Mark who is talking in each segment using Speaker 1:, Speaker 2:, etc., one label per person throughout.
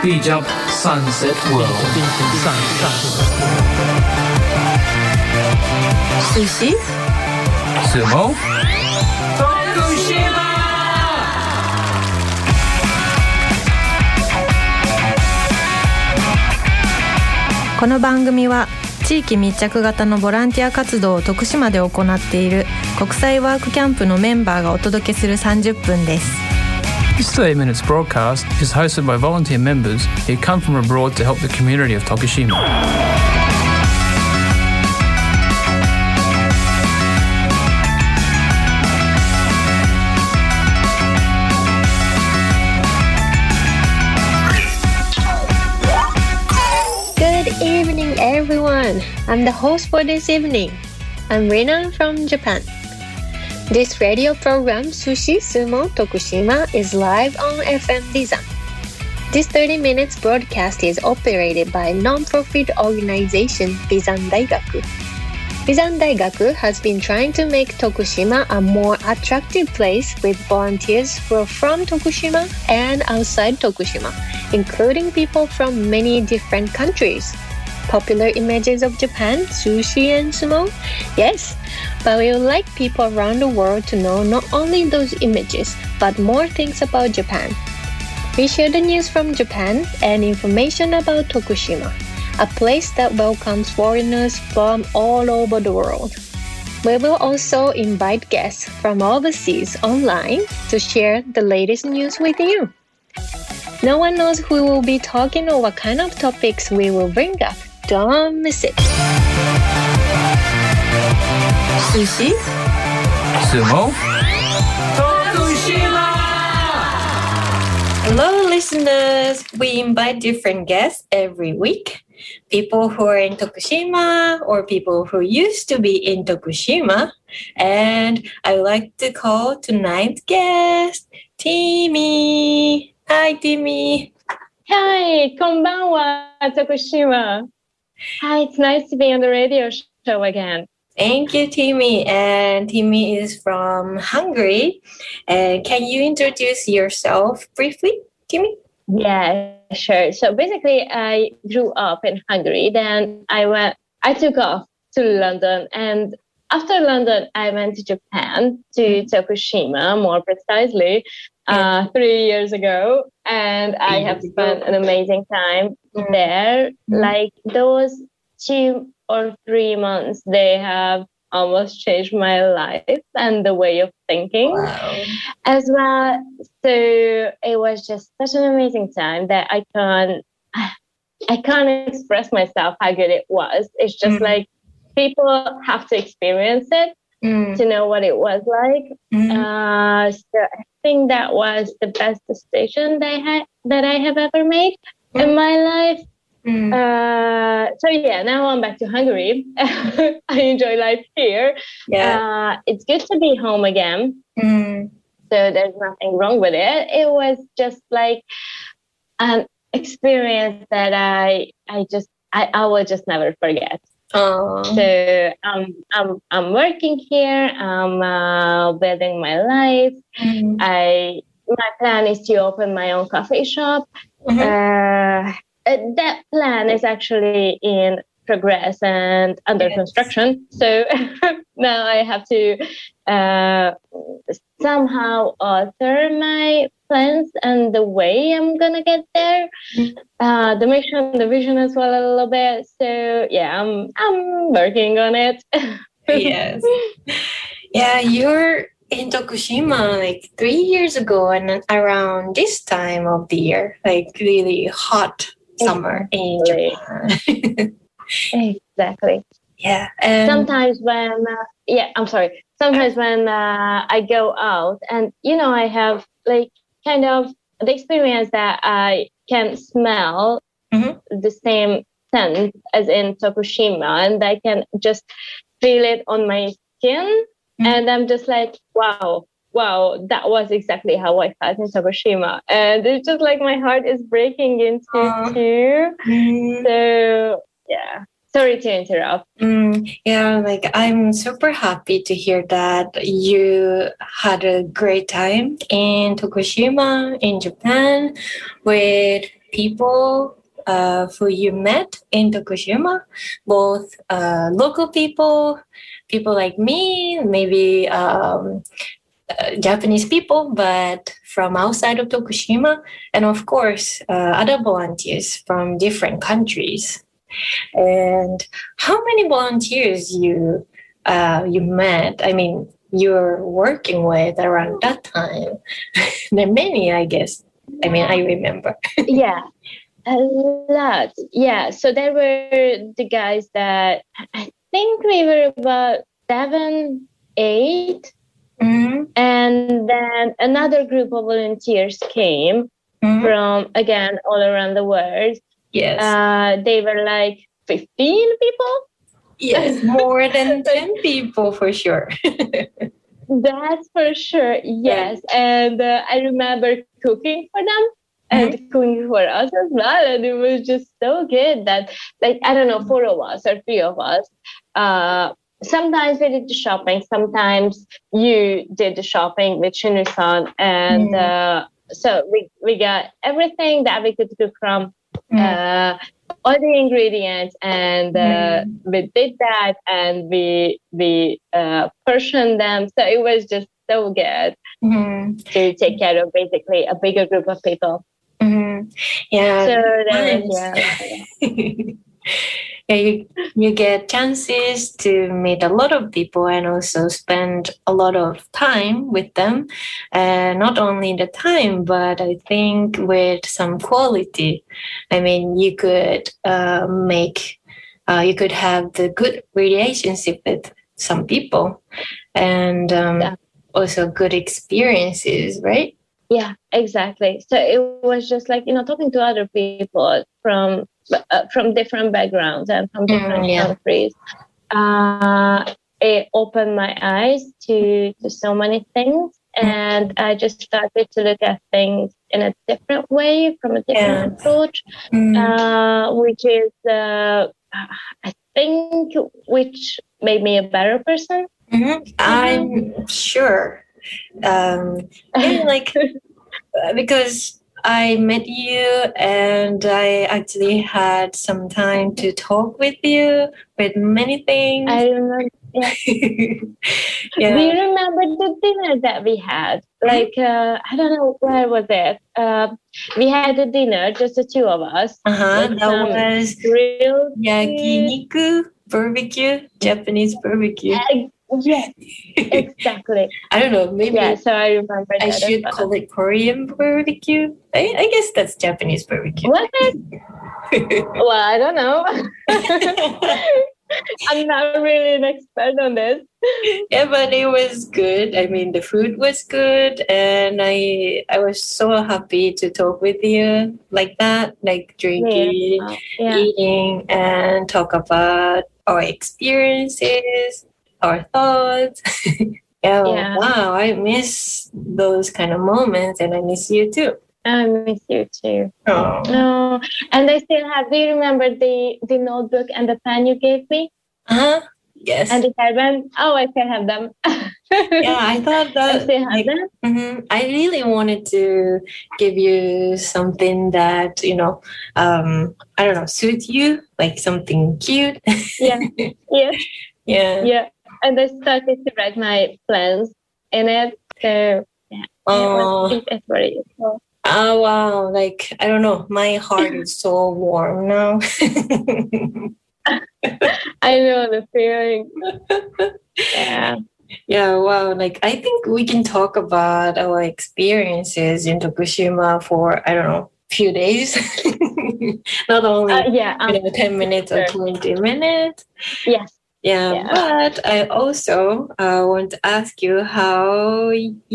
Speaker 1: Bijab Sunset World.
Speaker 2: Sushi?
Speaker 1: Sumo? Tokushima!
Speaker 2: この番組は地域密着型のボランティア活動を徳島で行っている国際ワークキャンプのメンバーがお届けする30分です。
Speaker 1: This 30 minutes broadcast is hosted by volunteer members who come from abroad to help the community of Tokushima.
Speaker 3: Good evening, everyone. I'm the host for this evening. I'm Rina from Japan. This radio program, Sushi Sumo Tokushima, is live on FM Bizan. This 30 minutes broadcast is operated by non-profit organization Bizan Daigaku. Bizan Daigaku has been trying to make Tokushima a more attractive place with volunteers who are from Tokushima and outside Tokushima, including people from many different countries. Popular images of Japan, sushi and sumo? Yes, but we would like people around the world to know not only those images, but more things about Japan. We share the news from Japan and information about Tokushima, a place that welcomes foreigners from all over the world. We will also invite guests from overseas online to share the latest news with you. No one knows who will be talking or what kind of topics we will bring up. Don't miss it.
Speaker 2: Sushi?
Speaker 1: Sumo? Tokushima!
Speaker 2: Hello, listeners. We invite different guests every week. People who are in Tokushima or people who used to be in Tokushima. And I would like to call tonight's guest, Timmy. Hi, Timmy.
Speaker 4: Hi, konbanwa, Tokushima. Hi, it's nice to be on the radio show again.
Speaker 2: Thank you, Timmy. And Timmy is from Hungary. And can you introduce yourself briefly, Timmy?
Speaker 4: Yeah, sure. So basically, I grew up in Hungary. Then I took off to London. And after London, I went to Japan, to Tokushima, more precisely, 3 years ago. And I have spent an amazing time there. Like those 2 or 3 months, they have almost changed my life and the way of thinking as well. So it was just such an amazing time that I can't express myself how good it was. It's just like people have to experience it to know what it was like. So I think that was the best decision that I have ever made in my life. So yeah, now I'm back to Hungary. I enjoy life here. It's good to be home again. So there's nothing wrong with it. It was just like an experience that I will just never forget. So I'm working here. I'm building my life. My plan is to open my own coffee shop. That plan is actually in progress and under construction. So now I have to somehow alter my plans and the way I'm gonna get there. The mission, the vision as well a little bit. So yeah, I'm working on it.
Speaker 2: Yes. Yeah, you're in Tokushima like 3 years ago and around this time of the year, like really hot summer in Japan.
Speaker 4: Exactly.
Speaker 2: Yeah.
Speaker 4: Sometimes when Sometimes when I go out and I have like kind of the experience that I can smell the same scent as in Tokushima, and I can just feel it on my skin, and I'm just like, wow, that was exactly how I felt in Tokushima. And it's just like my heart is breaking into two. So, yeah. Sorry to interrupt.
Speaker 2: Yeah, like I'm super happy to hear that you had a great time in Tokushima, in Japan, with people who you met in Tokushima, both local people, people like me, maybe Japanese people, but from outside of Tokushima, and of course, other volunteers from different countries. And how many volunteers you met? I mean, you're working with around that time. There are many, I guess. I mean, I remember.
Speaker 4: Yeah, a lot. Yeah, so there were the guys that I think we were about 7, 8. Mm-hmm. And then another group of volunteers came from, again, all around the world.
Speaker 2: Yes.
Speaker 4: They were like 15 people.
Speaker 2: Yes, more than 10 people for sure.
Speaker 4: That's for sure, yes. And I remember cooking for them and cooking for us as well. And it was just so good that, like, I don't know, 4 of us or 3 of us, sometimes we did the shopping, sometimes you did the shopping with Shinu-san. And so we got everything that we could cook from, all the ingredients, and we did that, and we portioned them. So it was just so good to take care of basically a bigger group of people.
Speaker 2: Yeah.
Speaker 4: So that was,
Speaker 2: yeah, you get chances to meet a lot of people and also spend a lot of time with them. And not only the time, but I think with some quality. I mean, you could you could have the good relationship with some people, and also good experiences, right?
Speaker 4: Yeah, exactly. So it was just like, talking to other people from different backgrounds and from different countries. It opened my eyes to so many things. And I just started to look at things in a different way, from a different approach, which is, I think, which made me a better person.
Speaker 2: I'm sure. Like, because I met you and I actually had some time to talk with you with many things.
Speaker 4: I remember. Yeah. Do you remember the dinner that we had? Like, I don't know, where was it? We had a dinner, just the 2 of us.
Speaker 2: That was
Speaker 4: grilled
Speaker 2: yakiniku barbecue, Japanese barbecue.
Speaker 4: Yes, exactly.
Speaker 2: I don't know, maybe.
Speaker 4: Yeah, so I remember that.
Speaker 2: I should call it Korean barbecue. I guess that's Japanese barbecue.
Speaker 4: Was it? Well, I don't know. I'm not really an expert on this.
Speaker 2: Yeah, but it was good. I mean, the food was good, and I was so happy to talk with you like that, like drinking, eating, and talk about our experiences, our thoughts. Wow, I miss those kind of moments, and I miss you too.
Speaker 4: I miss you too.
Speaker 2: Oh.
Speaker 4: No, and I still have. Do you remember the notebook and the pen you gave me?
Speaker 2: Yes.
Speaker 4: And the hairband. Oh, I still have them.
Speaker 2: Yeah, I thought that.
Speaker 4: I still have them.
Speaker 2: I really wanted to give you something that I don't know, suit you, like something cute.
Speaker 4: Yeah.
Speaker 2: Yeah.
Speaker 4: And I started to write my plans in it. So it was very useful.
Speaker 2: Oh, wow. Like, I don't know. My heart is so warm now.
Speaker 4: I know the feeling.
Speaker 2: Yeah, wow. Like, I think we can talk about our experiences in Tokushima for, I don't know, few days. Not only 10 minutes or 20 minutes.
Speaker 4: Yes.
Speaker 2: Yeah, but I also want to ask you how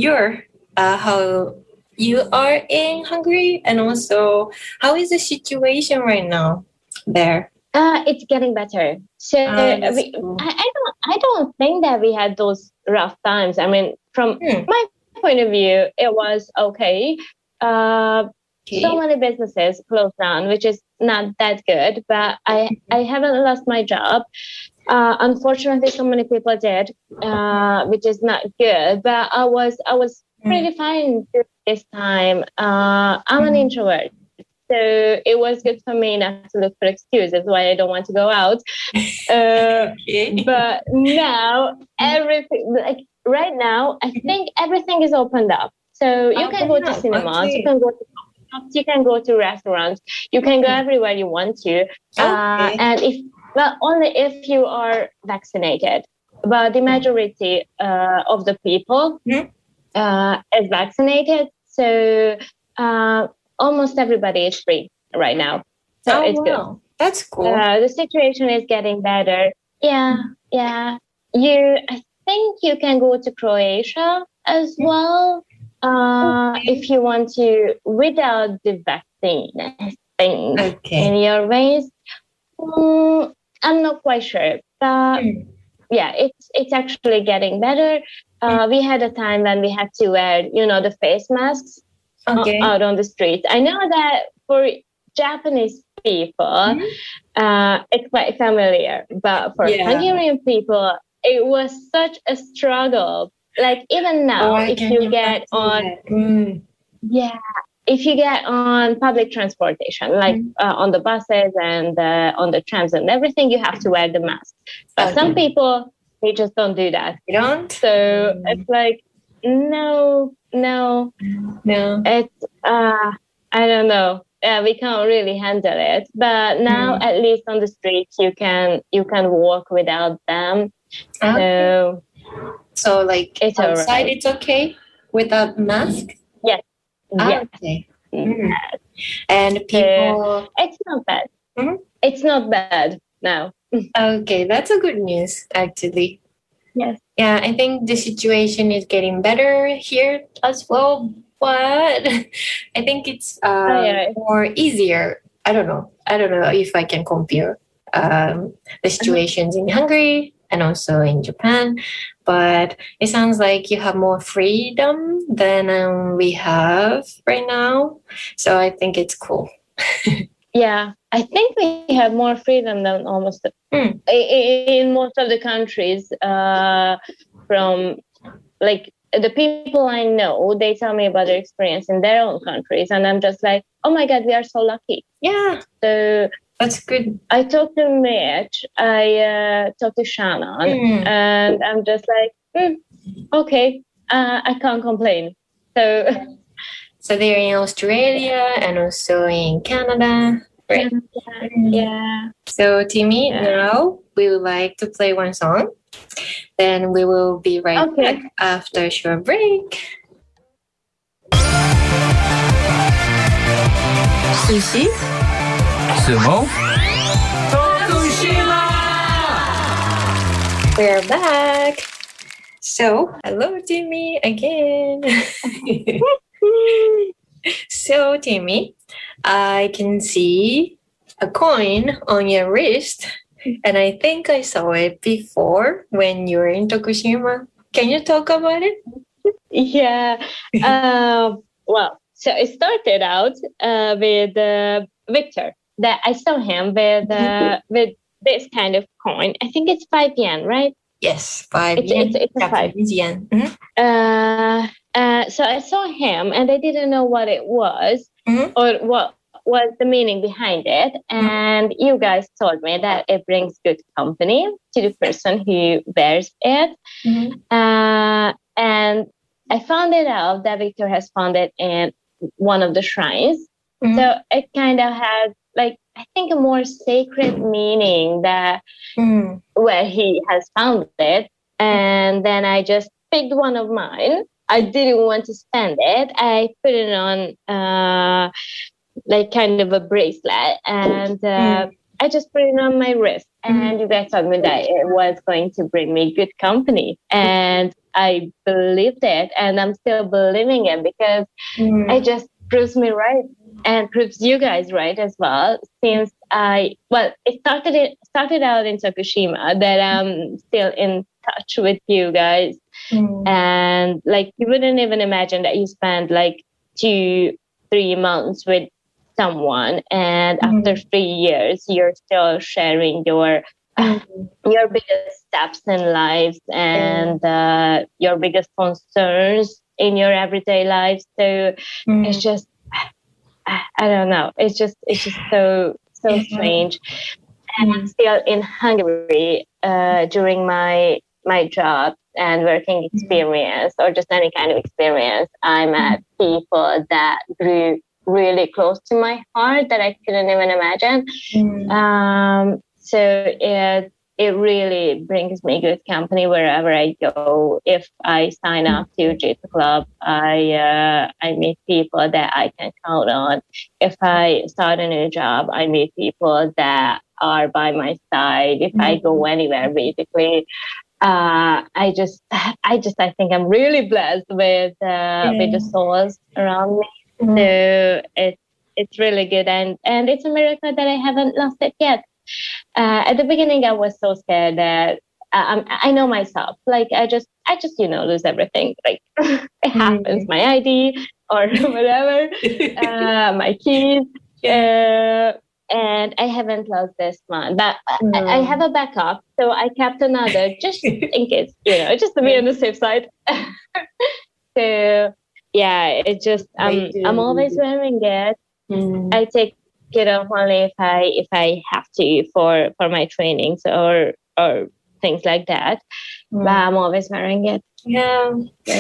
Speaker 2: you are in Hungary, and also how is the situation right now there?
Speaker 4: It's getting better. So I don't think that we had those rough times. I mean, from my point of view, it was okay. so many businesses closed down, which is not that good. But I haven't lost my job. Unfortunately, so many people did, which is not good. But I was pretty fine during this time. I'm an introvert. So it was good for me not to look for excuses why I don't want to go out. But now everything, like right now, I think everything is opened up. So you can go to cinemas, you can go to shops, you can go to restaurants, you can go everywhere you want to. And only if you are vaccinated. But the majority of the people is vaccinated. So almost everybody is free right now. So it's good.
Speaker 2: That's cool.
Speaker 4: The situation is getting better. Yeah. I think you can go to Croatia as well if you want to without the vaccine thing in your veins. I'm not quite sure, but it's actually getting better. We had a time when we had to wear, the face masks out on the streets. I know that for Japanese people, it's quite familiar, but for Hungarian people, it was such a struggle. Like even now, if you get on, if you get on public transportation, like on the buses and on the trams and everything, you have to wear the mask. But some people, they just don't do that.
Speaker 2: You don't?
Speaker 4: So it's like, no. It's, I don't know. We can't really handle it. But now, at least on the streets, you can walk without them.
Speaker 2: So like
Speaker 4: it's
Speaker 2: outside, it's okay without mask?
Speaker 4: Yes. Yes.
Speaker 2: Okay. And people...
Speaker 4: it's not bad. It's not bad now.
Speaker 2: Okay, that's a good news, actually.
Speaker 4: Yes.
Speaker 2: Yeah, I think the situation is getting better here as well, but I think it's more easier. I don't know if I can compare the situations in Hungary and also in Japan, but it sounds like you have more freedom than we have right now. So I think it's cool.
Speaker 4: Yeah, I think we have more freedom than almost in most of the countries. From like the people I know, they tell me about their experience in their own countries, and I'm just like, oh my God, we are so lucky.
Speaker 2: Yeah,
Speaker 4: so
Speaker 2: that's good.
Speaker 4: I talked to Mitch, I talked to Shannon, and I'm just like, okay, I can't complain.
Speaker 2: So they're in Australia and also in Canada. Right?
Speaker 4: Yeah.
Speaker 2: So Timmy, now we would like to play one song. Then we will be right back after a short break.
Speaker 1: Sushi, Sumo, Tokushima!
Speaker 2: We're back. So, hello Timmy again. So Timmy, I can see a coin on your wrist, and I think I saw it before when you were in Tokushima. Can you talk about it?
Speaker 4: Yeah. Well, so it started out with Victor. That I saw him with this kind of coin. I think it's 5 yen, right?
Speaker 2: Yes, 5 yen.
Speaker 4: It's a 5
Speaker 2: yen.
Speaker 4: So I saw him, and I didn't know what it was or what was the meaning behind it. And you guys told me that it brings good company to the person who wears it. And I found it out that Victor has found it in one of the shrines. So it kind of has, like, I think a more sacred meaning that where he has found it. And then I just picked one of mine. I didn't want to spend it. I put it on like kind of a bracelet, and I just put it on my wrist. And you guys told me that it was going to bring me good company, and I believed it, and I'm still believing it because it just proves me right and proves you guys right as well. Since it started out in Tokushima, that I'm still in touch with you guys. And like, you wouldn't even imagine that you spend like 2 3 months with someone, and after 3 years you're still sharing your biggest steps in life and your biggest concerns in your everyday life. So it's just, I don't know, it's just so strange. And I'm still in Hungary during my job and working experience, or just any kind of experience. I met people that grew really close to my heart that I couldn't even imagine. So it really brings me good company wherever I go. If I sign up to J2 Club, I meet people that I can count on. If I start a new job, I meet people that are by my side. If I go anywhere, basically, I think I'm really blessed with the souls around me. So it's really good, and it's a miracle that I haven't lost it yet. At the beginning, I was so scared that I know myself. Like I just lose everything. Like it happens, my ID or whatever, my keys. And I haven't lost this one, but I have a backup, so I kept another just in case, just to be on the safe side. So yeah, it's just I'm always wearing it. I take it off only if I have to for my trainings or things like that. But I'm always wearing it.
Speaker 2: Yeah.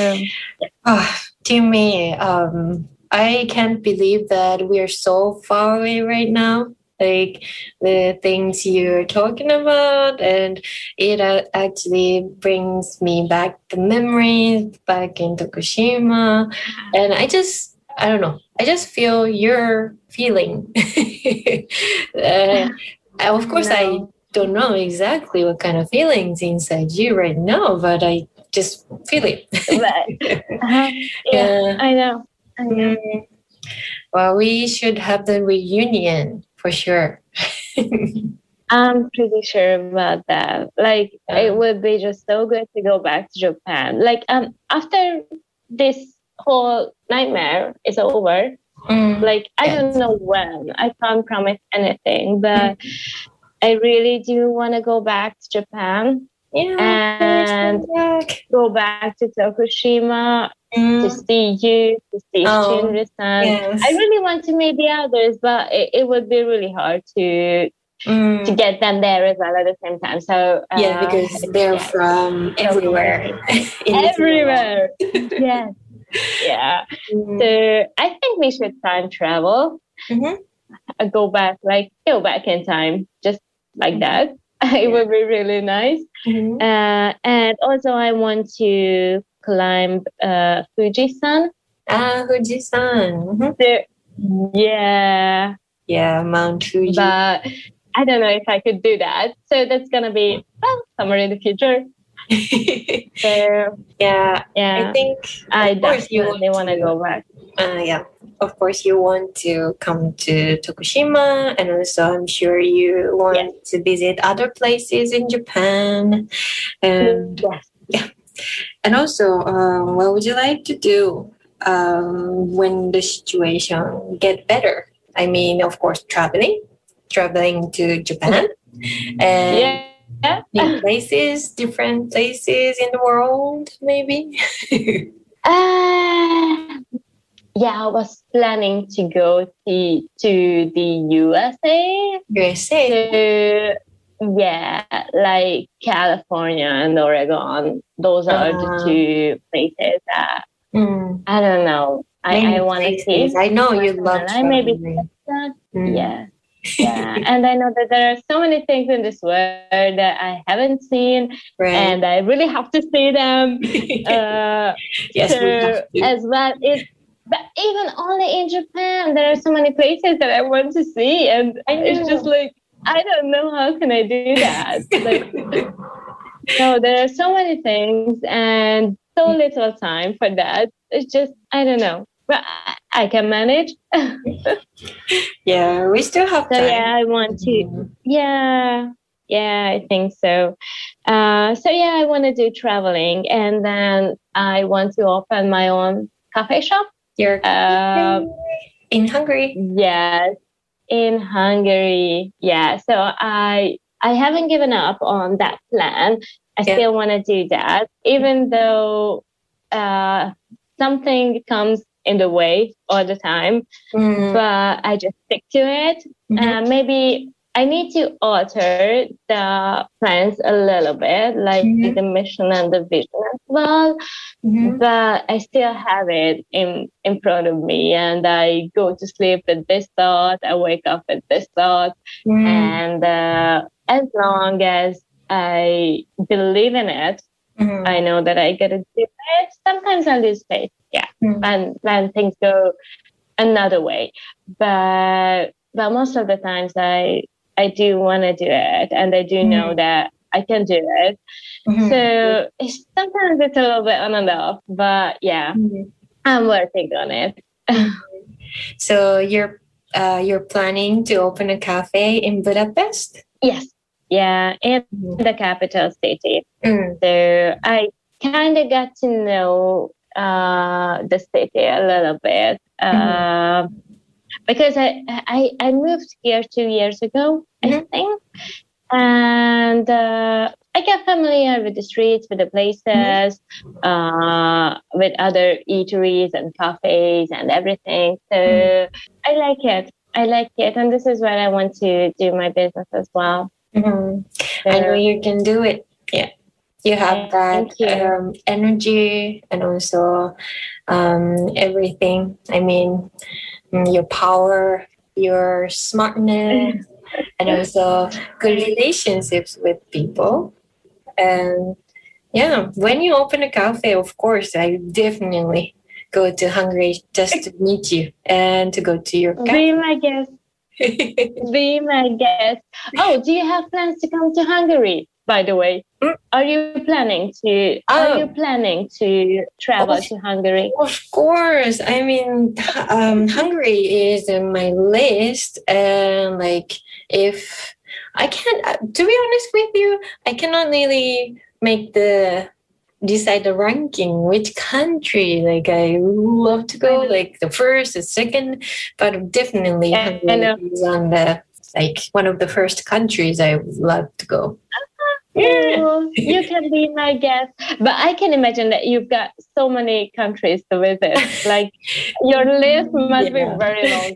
Speaker 2: To me, I can't believe that we are so far away right now. Like the things you're talking about, and it actually brings me back the memories back in Tokushima, and I don't know. I just feel your feeling. Of course, I don't know exactly what kind of feelings inside you right now, but I just feel it.
Speaker 4: Yeah, I know.
Speaker 2: Well, we should have the reunion for sure.
Speaker 4: I'm pretty sure about that. Like, it would be just so good to go back to Japan. Like, after this whole nightmare is over, like, I don't know when. I can't promise anything, but I really do want to go back to Japan and go back to Tokushima to see you, to see Shinri-san.
Speaker 2: Yes.
Speaker 4: I really want to meet the others, but it would be really hard to get them there as well at the same time. So
Speaker 2: because they're from everywhere.
Speaker 4: Everywhere. Yes. Yeah. So I think we should time travel. Go back in time, just like that. It would be really nice. And also I want to climb Fuji-san.
Speaker 2: Fuji-san.
Speaker 4: Yeah,
Speaker 2: Mount Fuji.
Speaker 4: But I don't know if I could do that. So that's gonna be somewhere in the future. So
Speaker 2: I think
Speaker 4: I definitely want to go back.
Speaker 2: Of course you want to come to Tokushima, and also I'm sure you want to visit other places in Japan. And and also what would you like to do when the situation get better? I mean, of course, traveling to Japan and new places, different places in the world, maybe.
Speaker 4: I was planning to go to the USA.
Speaker 2: USA.
Speaker 4: So, like California and Oregon. Those are the two places that I don't know. I want to see.
Speaker 2: I know you love traveling.
Speaker 4: Yeah, and I know that there are so many things in this world that I haven't seen, and I really have to see them. As well. But even only in Japan, there are so many places that I want to see, and it's just like I don't know how can I do that. So there are so many things and so little time for that. It's just I don't know. But I can manage.
Speaker 2: We still have time.
Speaker 4: So I want to. I think so. I want to do traveling, and then I want to open my own cafe shop.
Speaker 2: Your in Hungary?
Speaker 4: Yes, in Hungary. Yeah, so I haven't given up on that plan. I still want to do that, even though something comes in the way all the time, but I just stick to it. Maybe I need to alter the plans a little bit, like the mission and the vision as well. But I still have it in front of me, and I go to sleep with this thought. I wake up with this thought, and as long as I believe in it, I know that I gotta do it. Sometimes I lose faith, when things go another way, but most of the times I do want to do it, and I do know that I can do it. So sometimes it's a little bit on and off, but I'm working on it.
Speaker 2: So you're planning to open a cafe in Budapest?
Speaker 4: Yes. Yeah, in the capital city. So I kind of got to know the city a little bit. Because I moved here 2 years ago, I think. And I got familiar with the streets, with the places, with other eateries and cafes and everything. So I like it. And this is where I want to do my business as well. So,
Speaker 2: I know you can do it. Yeah. You have that energy and also everything. I mean, your power, your smartness, and also good relationships with people. And when you open a cafe, of course, I definitely go to Hungary just to meet you and to go to your cafe.
Speaker 4: Be my guest. Be my guest. Oh, do you have plans to come to Hungary, by the way? Are you planning to travel to Hungary?
Speaker 2: Of course. I mean, Hungary is in my list, and if I can't, to be honest with you, I cannot really decide the ranking, which country. I love to go, the first, the second, but definitely Hungary is on the one of the first countries I would love to go.
Speaker 4: You can be my guest, but I can imagine that you've got so many countries to visit. Your list must be very long.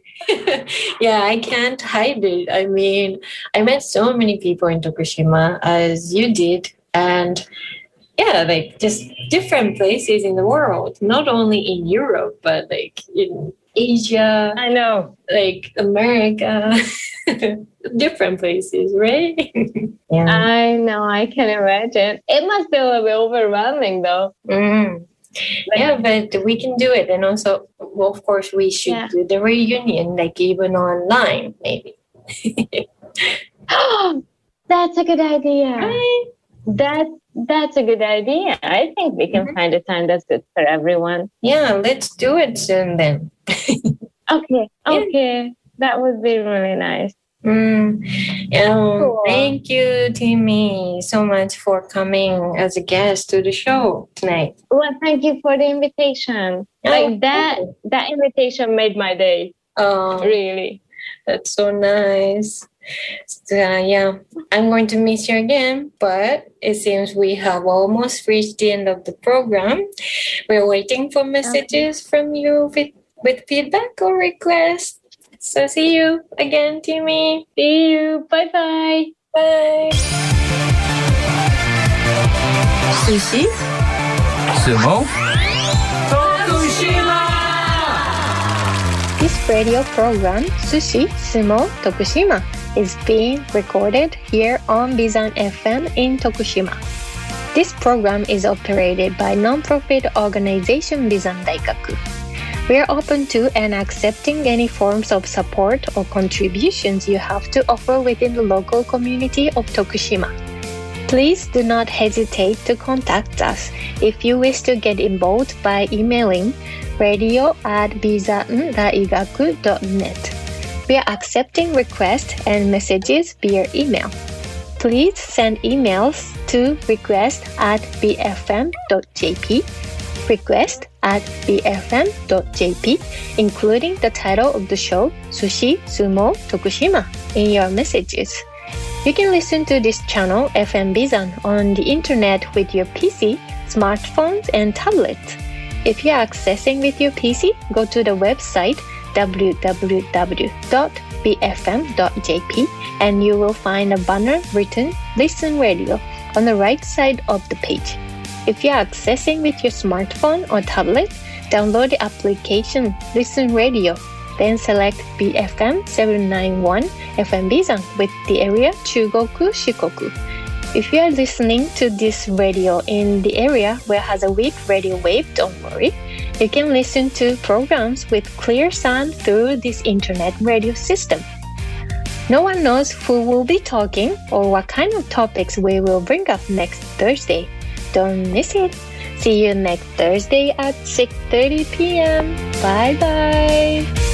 Speaker 2: I can't hide it. I mean, I met so many people in Tokushima as you did, and just different places in the world, not only in Europe, but in Asia.
Speaker 4: I know.
Speaker 2: America. Different places, right?
Speaker 4: I know, I can imagine. It must be a little bit overwhelming though.
Speaker 2: But we can do it. And also, of course, we should do the reunion, even online, maybe.
Speaker 4: That's a good idea.
Speaker 2: Right?
Speaker 4: That's a good idea. I think we can find a time that's good for everyone.
Speaker 2: Yeah, let's do it soon then.
Speaker 4: Okay. That would be really nice.
Speaker 2: Cool. Thank you, Timmy, so much for coming as a guest to the show tonight.
Speaker 4: Well, thank you for the invitation. That invitation made my day.
Speaker 2: Oh,
Speaker 4: really?
Speaker 2: That's so nice. So, I'm going to miss you again, but it seems we have almost reached the end of the program. We're waiting for messages from you with feedback or requests. So see you again, Timmy.
Speaker 4: See you. Bye-bye.
Speaker 2: Bye.
Speaker 1: Sushi. Sumo. Tokushima!
Speaker 3: This radio program, Sushi, Sumo, Tokushima, is being recorded here on Bizan FM in Tokushima. This program is operated by non-profit organization Bizan Daikaku. We are open to and accepting any forms of support or contributions you have to offer within the local community of Tokushima. Please do not hesitate to contact us if you wish to get involved by emailing radio@bizandaigaku.net. We are accepting requests and messages via email. Please send emails to request@bfm.jp, request at bfm.jp, including the title of the show, Sushi Sumo Tokushima, in your messages. You can listen to this channel, FM Bizan, on the internet with your PC, smartphones, and tablets. If you are accessing with your PC, go to the website www.bfm.jp and you will find a banner written Listen Radio on the right side of the page. If you are accessing with your smartphone or tablet, download the application Listen Radio. Then select BFM 791 FM Bizan with the area Chugoku Shikoku. If you are listening to this radio in the area where has a weak radio wave, don't worry. You can listen to programs with clear sound through this internet radio system. No one knows who will be talking or what kind of topics we will bring up next Thursday. Don't miss it. See you next Thursday at 6:30 p.m. Bye bye.